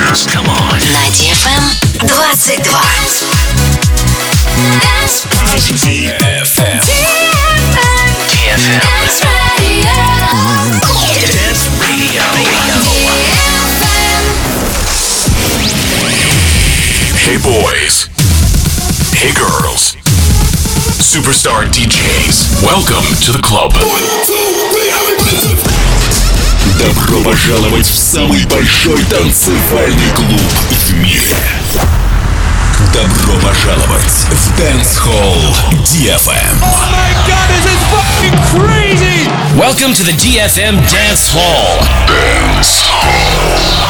dance. Come on. На DFM 22. DFM. Dance Radio. Dance Radio. Hey boys. Hey girls. Superstar DJs. Welcome to the club. Добро пожаловать в самый большой танцевальный клуб в мире. Добро пожаловать в Dance Hall DFM. Oh my god, this is fucking crazy! Welcome to the DFM Dance Hall. Dance Hall.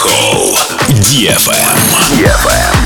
Hall DFM.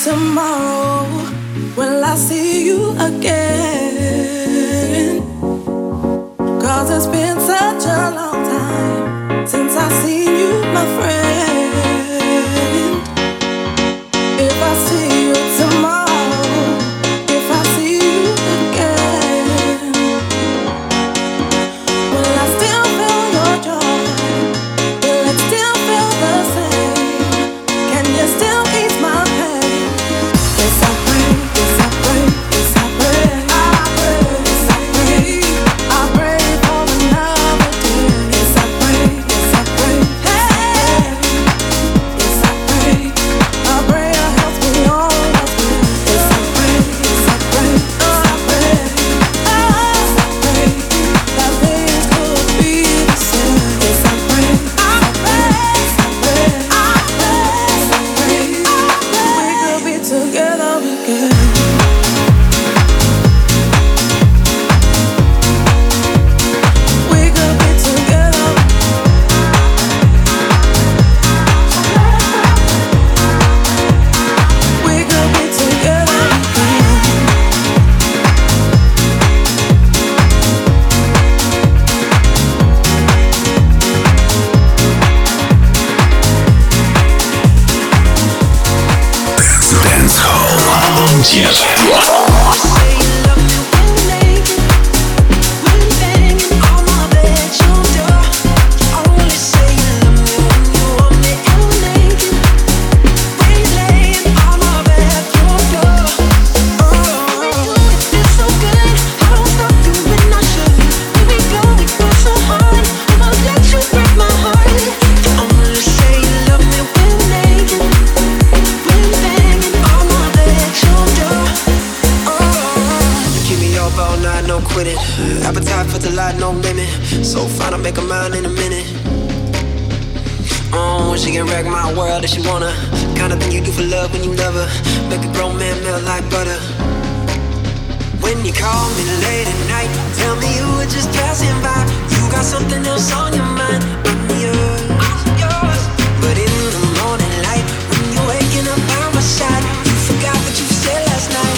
tomorrow? Will I see you again? 'Cause it's been such a long time since I've seen you, my friend. If I see you tomorrow, if I see you again, will I still feel your joy? Will it still feel the same? Can you still ease my pain? Yes, I pray, yes, I pray, yes, I pray, I pray, yes, I pray, I pray for another day. Yes, I pray, yes, I pray, hey, yes, I pray, a prayer helps me always win. Yes, I pray, yes, I pray, yes, I pray, yes, I pray, that things could be the same. Yes, I pray, I pray, yes, I pray, I pray, yes, I pray, we could be together again. We could be together. We could be together again. Dance Hall DFM. Appetite for delight, no limit. So fine, I'll make a mind in a minute. Oh, she can wreck my world if she wanna. Kind of thing you do for love when you love her. Make a grown man melt like butter. When you call me late at night, tell me you were just passing by. You got something else on your mind. I'm yours. But in the morning light, when you're waking up by my side, you forgot what you said last night.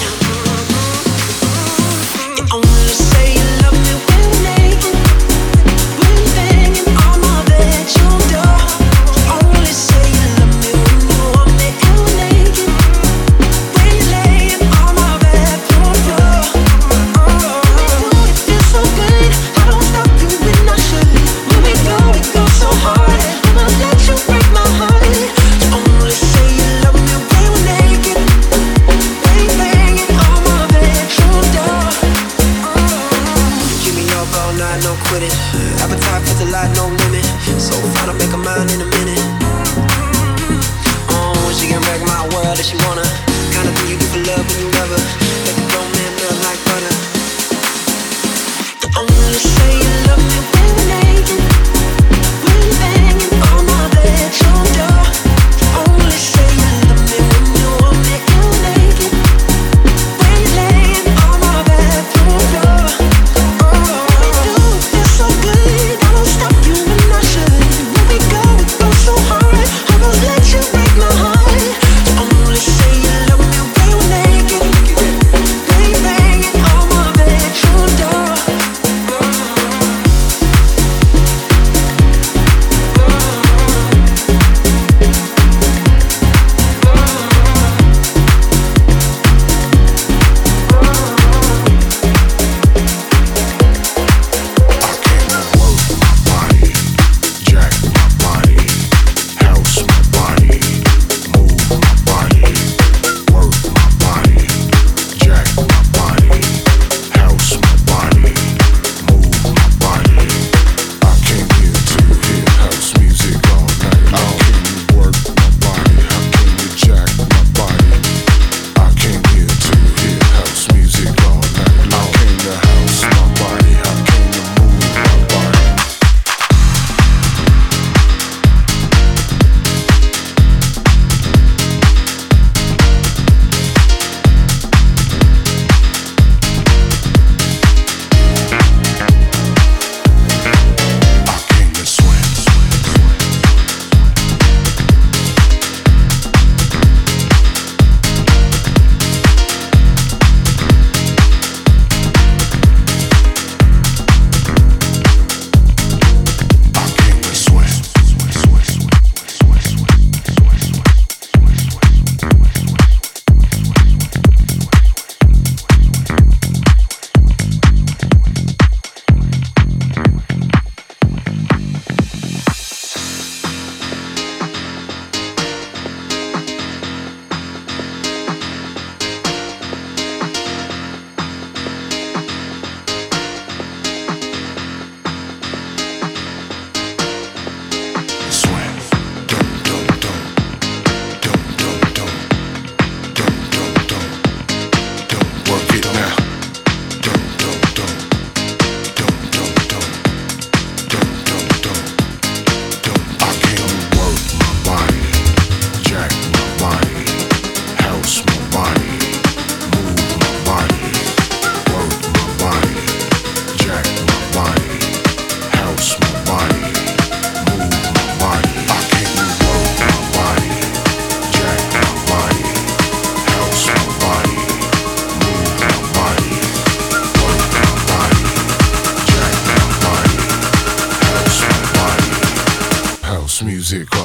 You only say you love me when you're naked, when you're banging on my bedroom door. You only say you love me when you want me and we're naked, when you're laying on my bedroom floor. It feels so good, I don't stop doing I should. When we go so hard, and my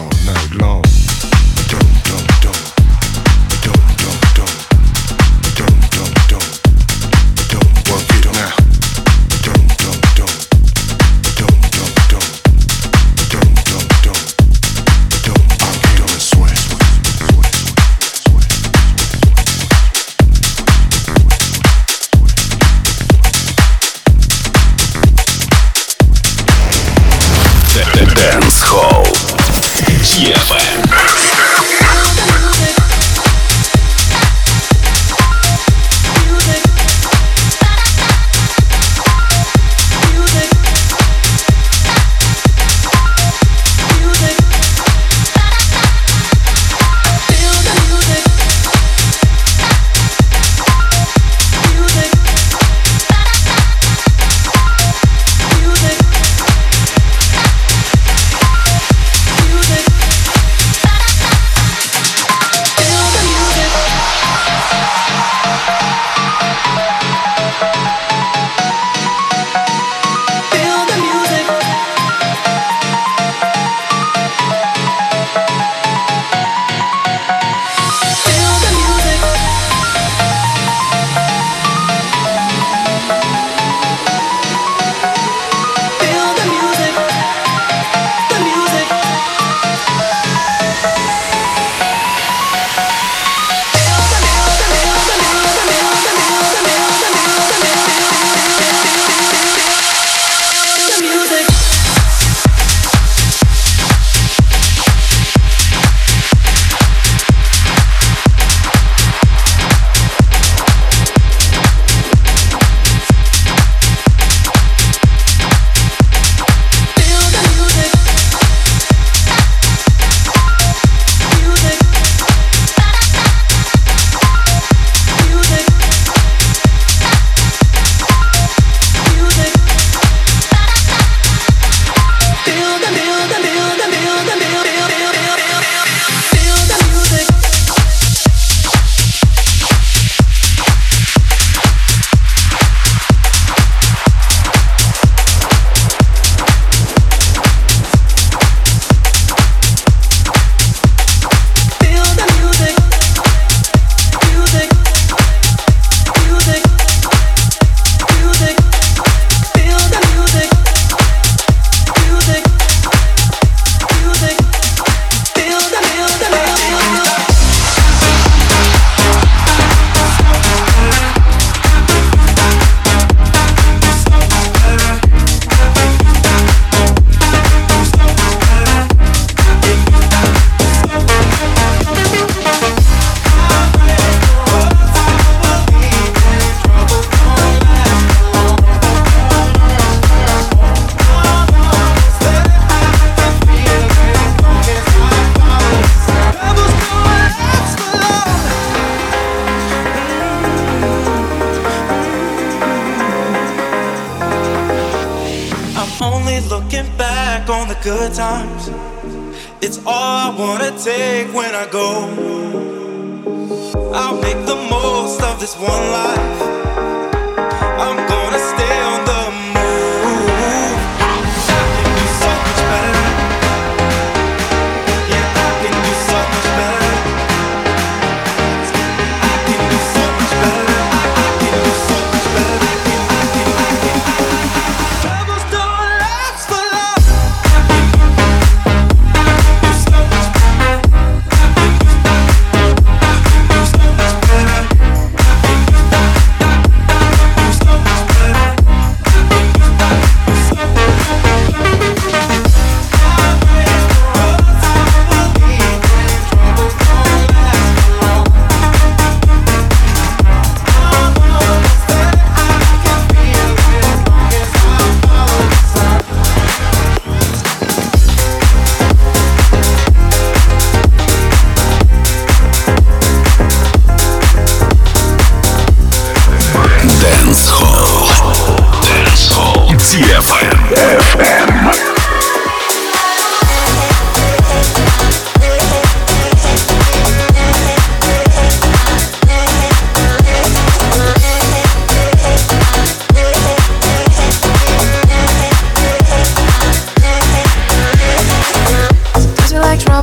all night long. Don't, don't, don't. Don't, don't, don't. Don't, don't, don't. Don't work it now. Don't, don't, don't. Don't, don't, don't. Don't, don't, don't. Don't, I'm feeling sweat. Dance Hall DFM. Good times, it's all I wanna take when I go. I'll make the most of this one life. I'm gonna stay on the move. I can do so much better. Yeah, I can do so much better. I can do so much better. I can do so much better. Troubles don't last for long. So much better.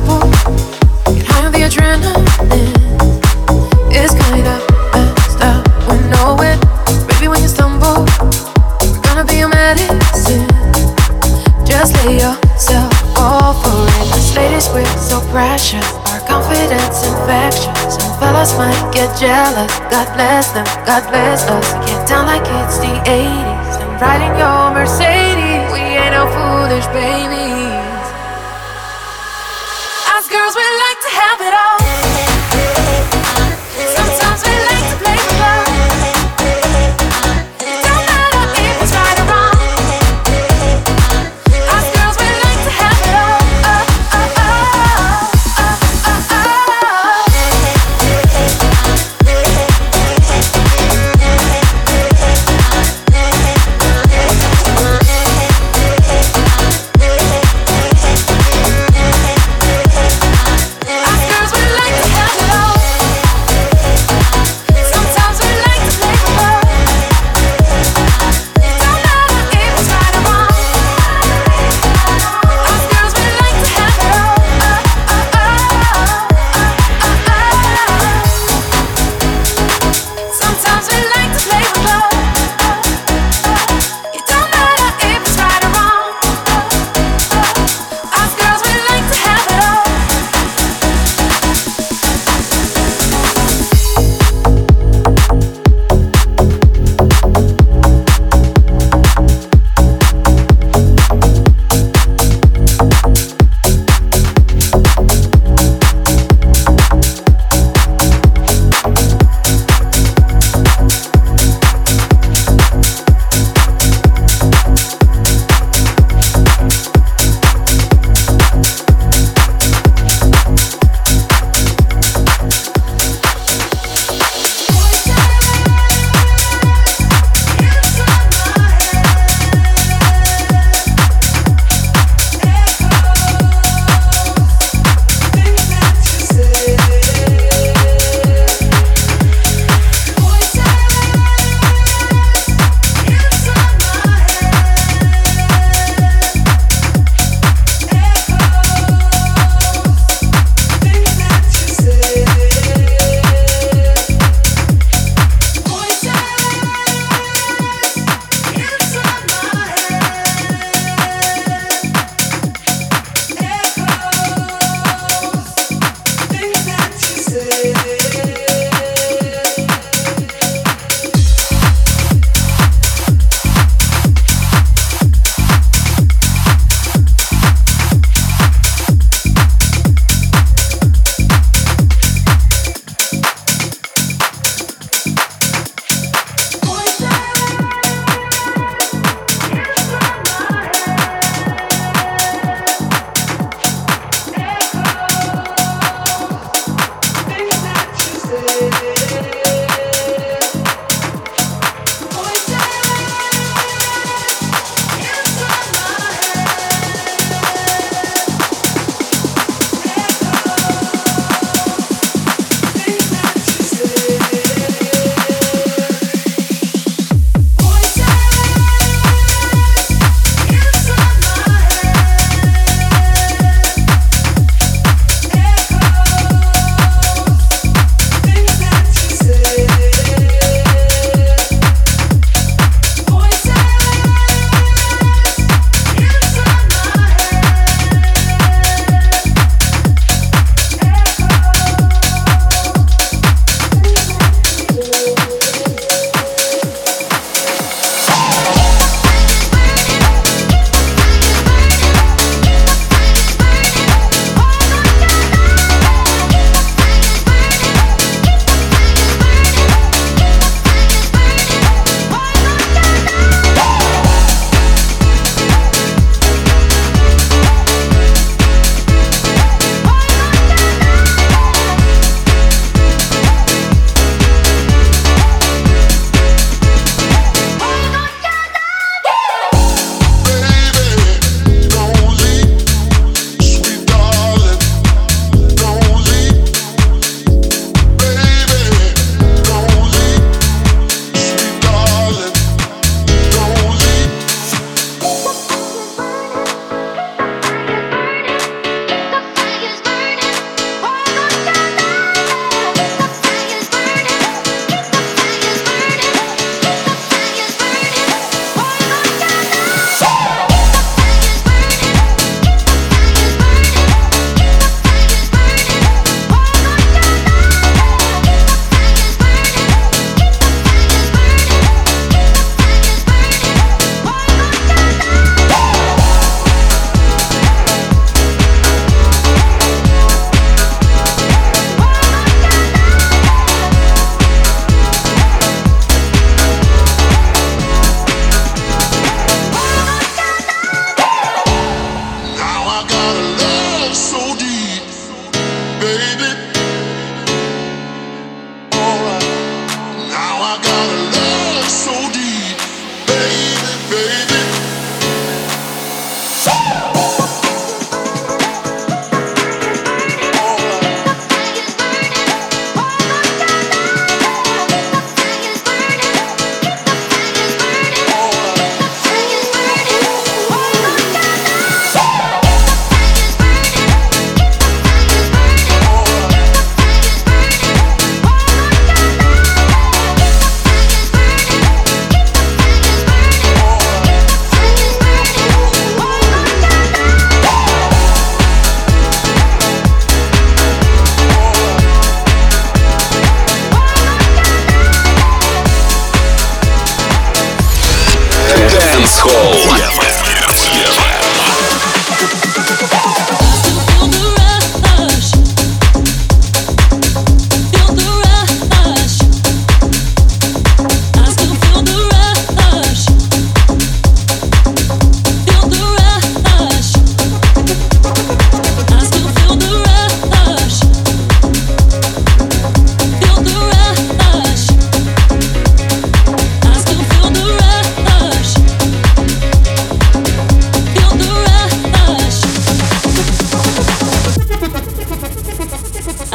trouble, get high on the adrenaline. It's kinda messed up, we know it. Baby, when you stumble, we're gonna be your medicine. Just lay yourself all for it. Us ladies, we're so precious, our confidence infectious. Some fellas might get jealous. God bless them, God bless us. Get down like it's the 80s and riding your Mercedes. We ain't no foolish babies. Us girls, we like to have it all. Sometimes we like to play with love. It don't matter if it's right or wrong. Us girls, we like to have it all. Us girls, we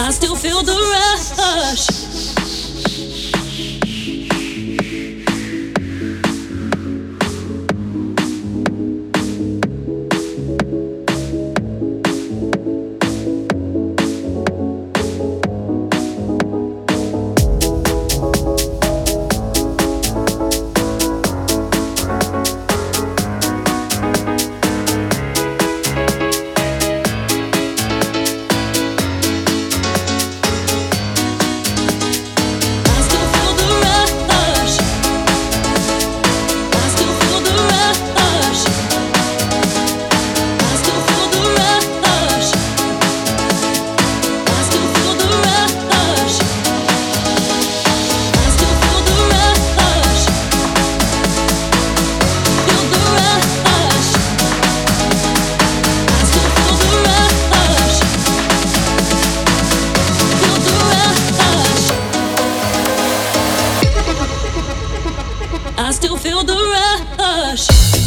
I still feel the rush. I still feel the rush.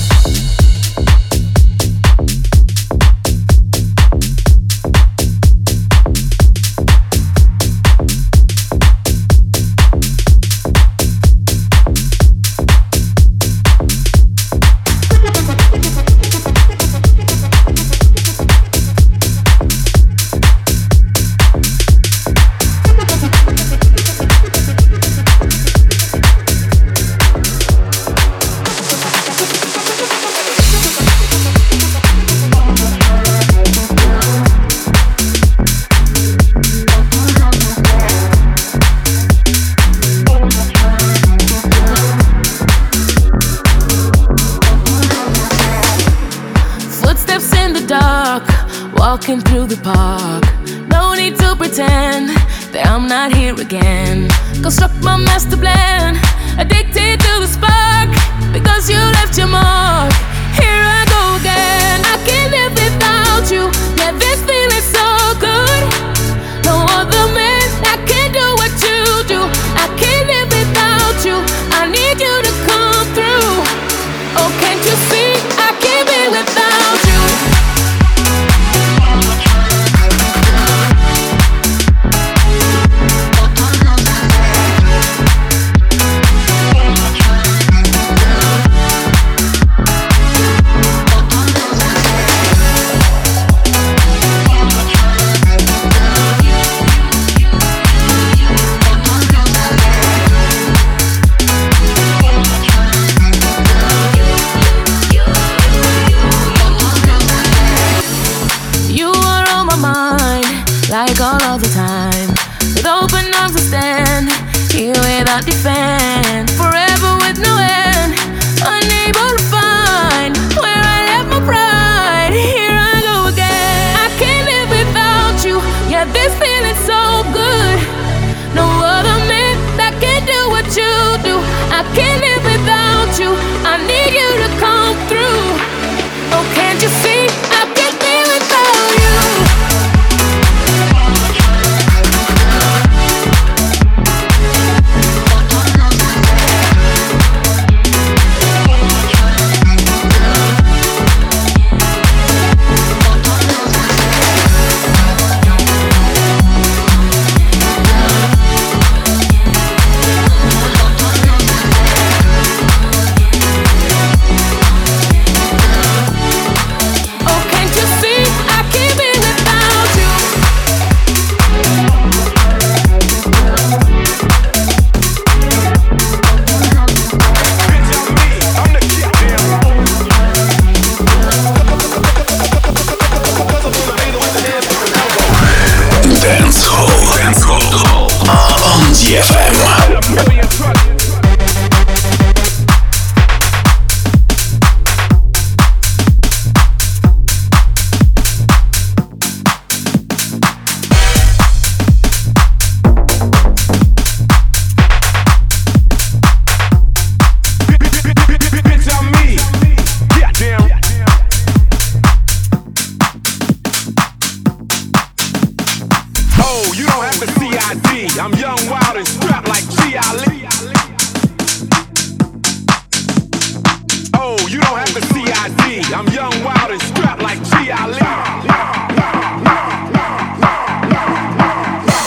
Walking through the park, no need to pretend that I'm not here again. Construct my master plan, addicted to the spark, because you left your mark. Here I go again, I can't live without you. Yeah, this feeling so good. No other man that can do what you do. I can't live without you. I need you to come through. Oh, can't you see? I can't be without you. Like all of the time, with open arms I stand here without defense, forever with no end, unable to find where I left my pride. Here I go again, I can't live without you. Yeah, this feeling's so good. No other man that can do what you do. I can't live without you. I need you to come through. Oh, can't you see? I can't be without you. I'm young, wild, and strapped like G. Ali. Oh, you don't have the CID. I'm young, wild, and strapped like G. Ali.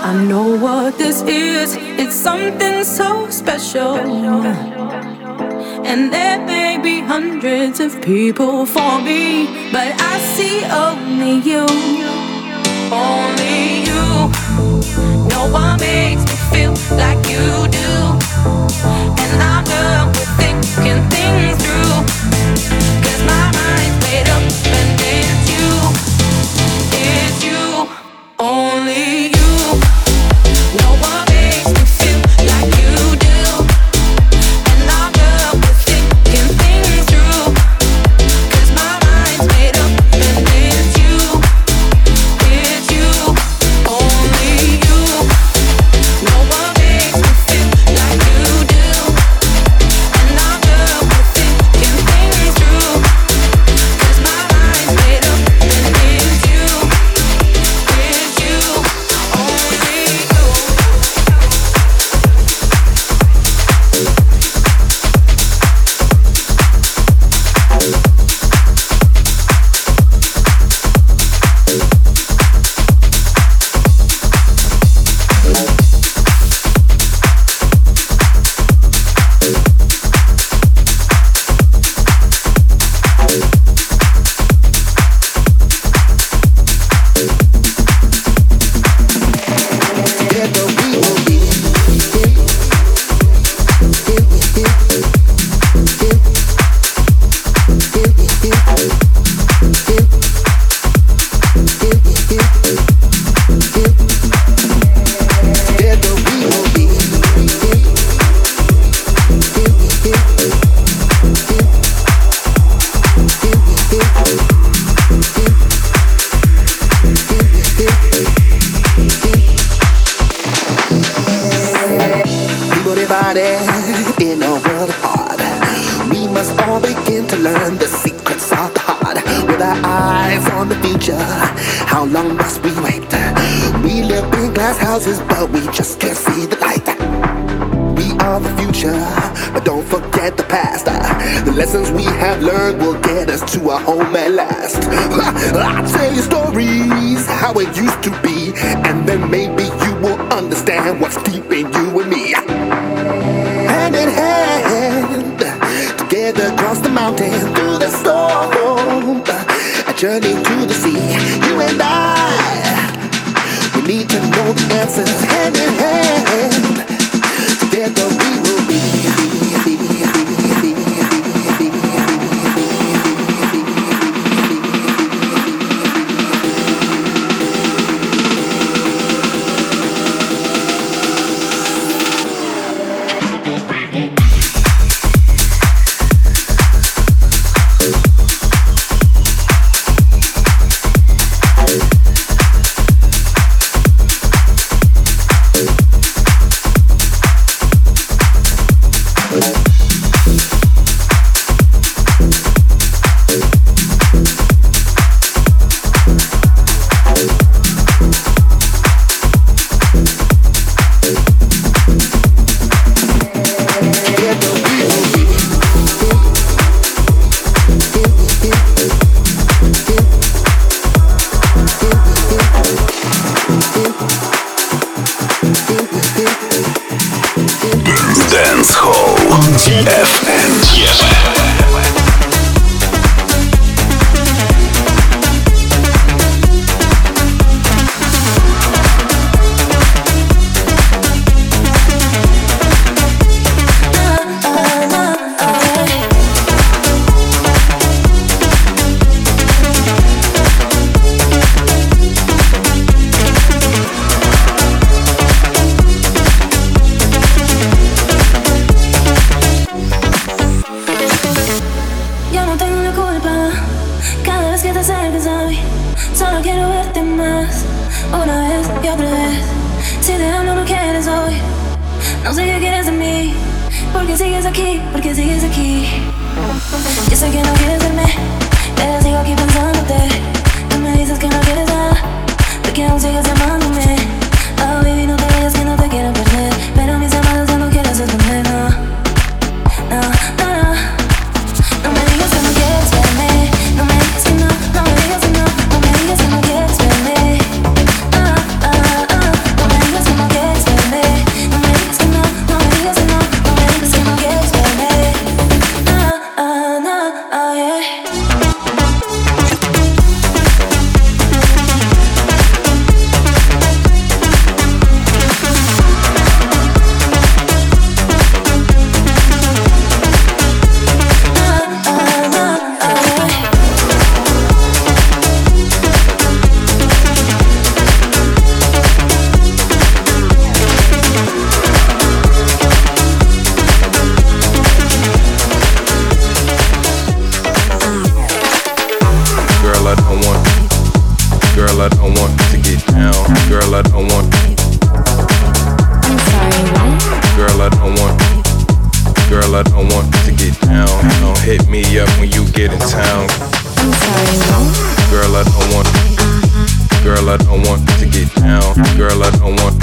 I know what this is. It's something so special. And there may be hundreds of people for me, but I see only you. Only you. No one makes me feel like you do. And I'm done with thinking things through. 'Cause my mind's made up and it's you. It's you. Only you. No one makes me feel like you do. And I'm done with thinking things through. 'Cause my mind's made up and it's you. It's you. Only you. No one makes me feel like you do. And I'm done with thinking things through. 'Cause my mind's made up and it's you. It's you. Only you. People divided in a world apart. We must all begin to learn the secrets of the heart. With our eyes on the future, how long must we wait? We live in glass houses, but we just can't see the light. We are the future, but don't forget the past. The lessons we have learned will get us to our home at last. I'll tell you stories, how it used to be, and then maybe you will understand what's deep in you and me. Hand in hand, together across the mountain, through the storm, a journey to the sea. You and I, we need to know the answers. Hand in hand, together we will be. Dance Hall DFM. Porque sigues aquí, porque sigues aquí. Yo sé que no quieres verme, pero sigo aquí pensándote. Tú me dices que no quieres nada, porque aún sigues llamándome. Oh baby, no te vayas que no te quiero perder, pero mis llamadas ya no quieres esconder, no. No, no, no. No me digas que no quieres verme, no me digas que no, no me digas que no, no me digas que no quieres verme. No me digas Girl, I don't want. Girl, I don't want to get down. Don't hit me up when you get in town. I'm sorry, what? Girl, I don't want. Girl, I don't want to get down. Girl, I don't want.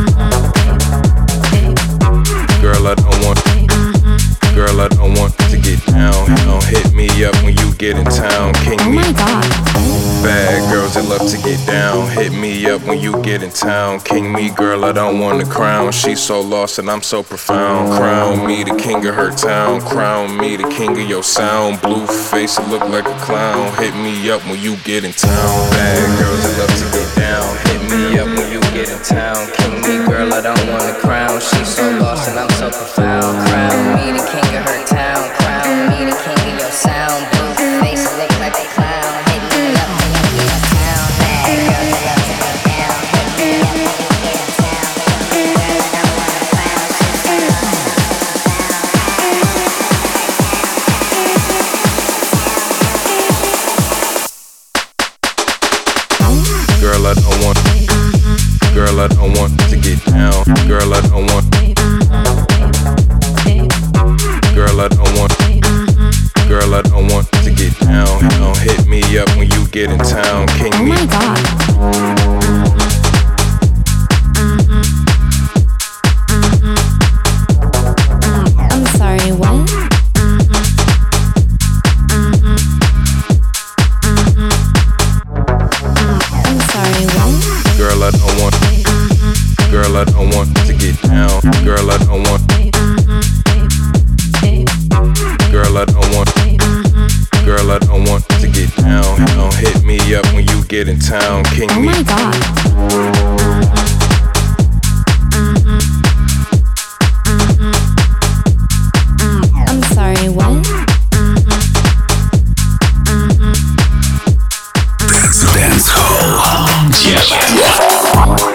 Girl, I don't want. Girl, I don't want to get down. Don't hit me up when you get in town. King me. Oh my God. Bad girls that love to get down. Hit me up when you get in town. King me, girl, I don't want a crown. She's so lost and I'm so profound. Crown me the king of her town. Crown me the king of your sound. Blue face, I look like a clown. Hit me up when you get in town. Bad girls that love to get down. Hit me up when you get in town. King me, girl, I don't want a crown. She's so lost and I'm so profound. Crown me the king of her town. Crown me the king of your sound. Blue face, I look like a clown. Hit me up when you get in town. Bad girls that love to get down. Hit me up when you get in town. Girl, I don't want a crown. She's so lost and I'm so profound. Girl, I don't want. Girl, I don't want to get down. Girl, I don't want. Girl, I don't want. Girl, I don't want to get down. Don't hit me up when you get in town. King me. Oh my God. I'm sorry, what? I'm sorry, what? Girl, I don't want. Girl, I don't want to get down. Girl, I don't want. Girl, I don't want. Girl, I don't want to get down. Don't hit me up when you get in town. King Oh me. my God. I'm sorry, what? Dance Hall. Yeah.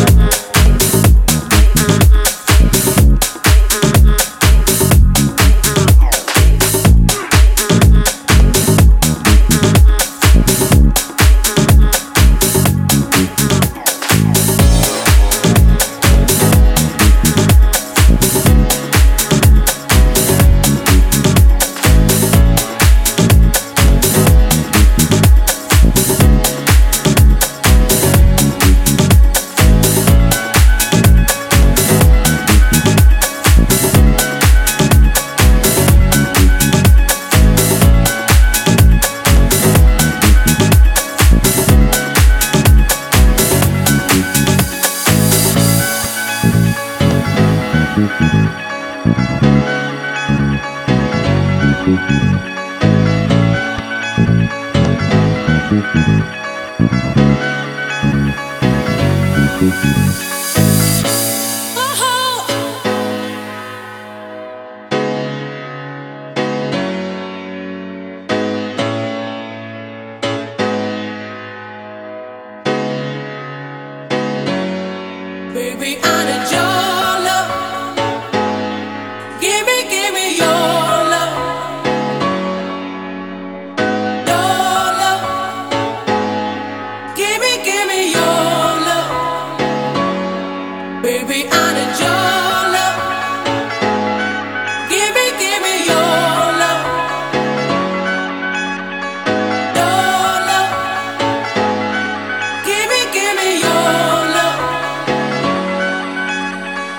Baby, I need your love. Give me your love. Your love. Give me your love. Baby, I need your love. Give me your love. Your love. Give me your love.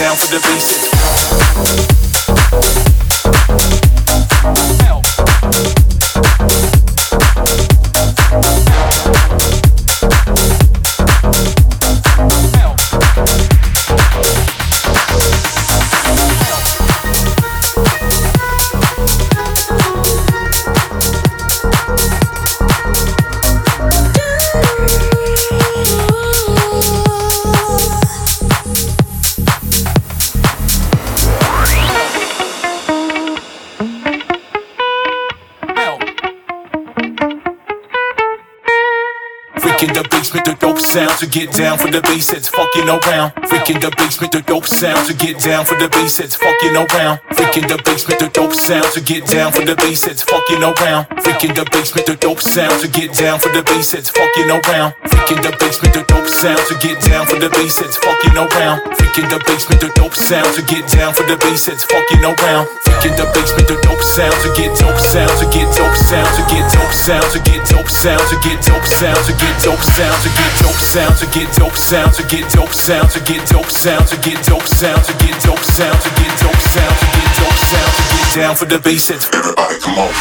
down for the basics. Sounds to get down for the bass, it's fucking around. Freaking the basement, the dope sounds to get down for the bass, it's fucking around. Freaking the basement, the dope sounds to get down for the bass, it's fucking around. Freaking the basement, the dope sounds to get down for the bass, it's fucking around. Freaking the basement, the dope sounds to get down for the bass, it's fucking around. Freaking the basement, the dope sounds to get down for the bass, it's fucking around. Freaking the basement, the dope sounds to get dope sounds to get dope sounds to get dope sounds to get dope sounds to get dope sounds to get dope sounds to get dope sounds to get dope sounds to get dope sounds to get dope sounds to get dope sounds to get dope sounds to get dope sounds to get dope sounds to get down for the bass. Everybody come on.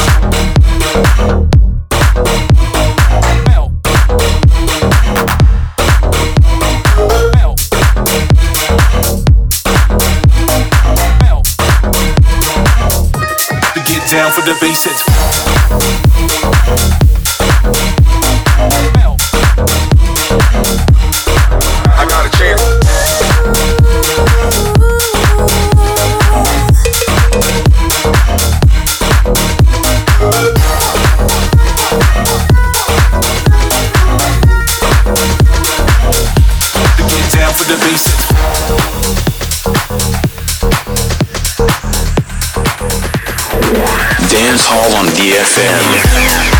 Down for the basics. I got a chance. To get down for the basics. Dance Hall on DFM.